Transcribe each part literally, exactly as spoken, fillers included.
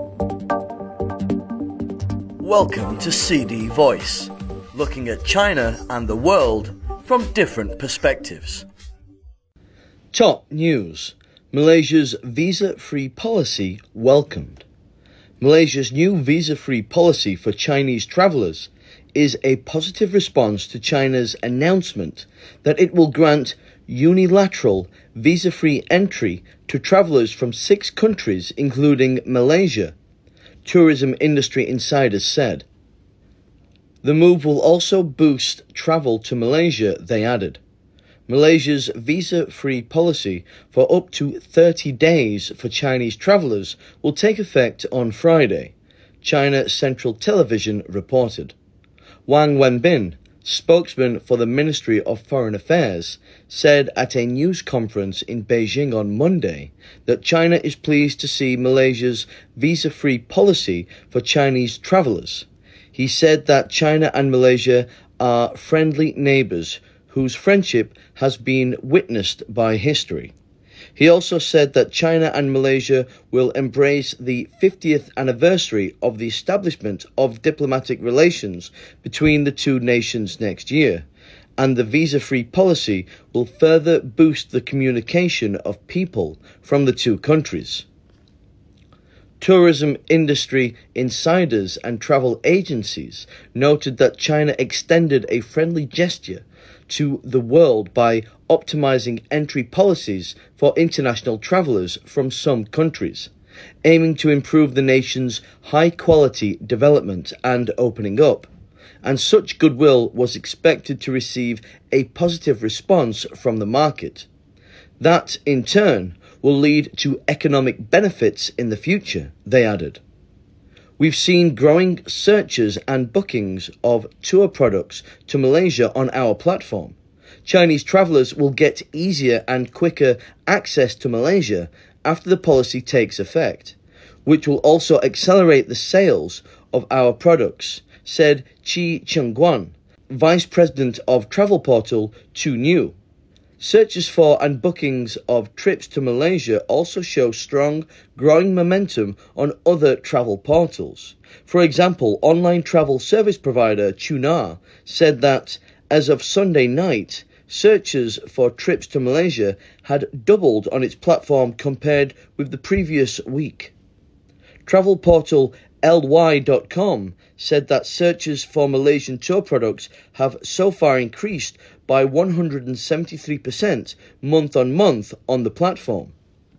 Welcome to C D Voice, looking at China and the world from different perspectives. Top news. Malaysia's visa-free policy welcomed. Malaysia's new visa-free policy for Chinese travellers is a positive response to China's announcement that it will grant unilateral visa-free entry to travellers from six countries, including Malaysia, tourism industry insiders said. The move will also boost travel to Malaysia, they added. Malaysia's visa-free policy for up to thirty days for Chinese travellers will take effect on Friday, China Central Television reported. Wang Wenbin, spokesman for the Ministry of Foreign Affairs, said at a news conference in Beijing on Monday that China is pleased to see Malaysia's visa-free policy for Chinese travellers. He said that China and Malaysia are friendly neighbours whose friendship has been witnessed by history. He also said that China and Malaysia will embrace the fiftieth anniversary of the establishment of diplomatic relations between the two nations next year, and the visa-free policy will further boost the communication of people from the two countries. Tourism industry insiders and travel agencies noted that China extended a friendly gesture to the world by optimizing entry policies for international travellers from some countries, aiming to improve the nation's high-quality development and opening up. And such goodwill was expected to receive a positive response from the market. That, in turn, will lead to economic benefits in the future, they added. We've seen growing searches and bookings of tour products to Malaysia on our platform. Chinese travellers will get easier and quicker access to Malaysia after the policy takes effect, which will also accelerate the sales of our products, said Qi Chengguan, Vice President of travel portal Tuniu. Searches for and bookings of trips to Malaysia also show strong, growing momentum on other travel portals. For example, online travel service provider Qunar said that, as of Sunday night, searches for trips to Malaysia had doubled on its platform compared with the previous week. Travel portal L Y dot com said that searches for Malaysian tour products have so far increased by one hundred seventy-three percent month on month on the platform.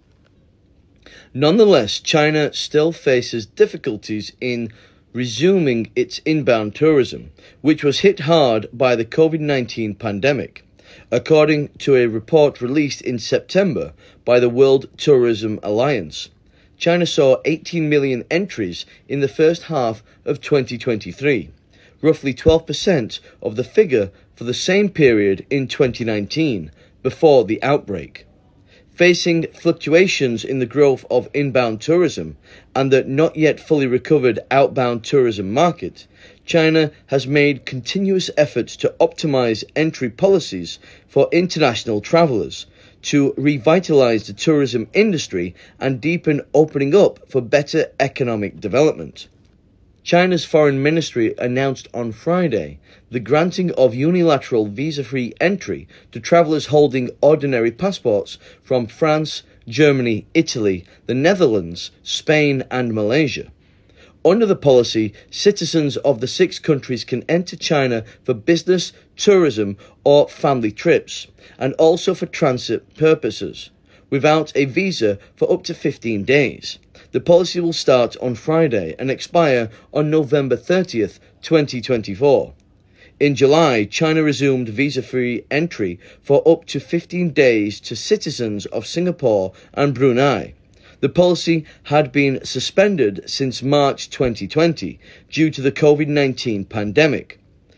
Nonetheless, China still faces difficulties in resuming its inbound tourism, which was hit hard by the COVID nineteen pandemic, according to a report released in September by the World Tourism Alliance. China saw eighteen million entries in the first half of twenty twenty-three, roughly twelve percent of the figure for the same period in twenty nineteen, before the outbreak. Facing fluctuations in the growth of inbound tourism and the not yet fully recovered outbound tourism market, China has made continuous efforts to optimize entry policies for international travelers, to revitalize the tourism industry and deepen opening up for better economic development. China's foreign ministry announced on Friday the granting of unilateral visa-free entry to travellers holding ordinary passports from France, Germany, Italy, the Netherlands, Spain and Malaysia. Under the policy, citizens of the six countries can enter China for business, tourism or family trips, and also for transit purposes, without a visa for up to fifteen days. The policy will start on Friday and expire on November thirtieth, twenty twenty-four. In July, China resumed visa-free entry for up to fifteen days to citizens of Singapore and Brunei. The policy had been suspended since March twenty twenty due to the COVID nineteen pandemic.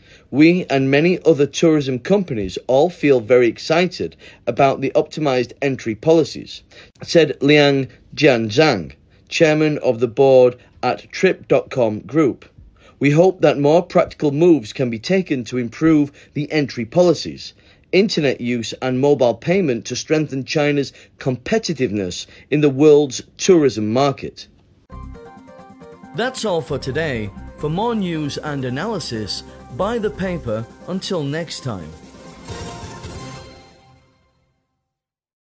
We and many other tourism companies all feel very excited about the optimized entry policies, said Liang Jianzhang, chairman of the board at Trip dot com Group. We hope that more practical moves can be taken to improve the entry policies, internet use and mobile payment to strengthen China's competitiveness in the world's tourism market. That's all for today. For more news and analysis, buy the paper. Until next time.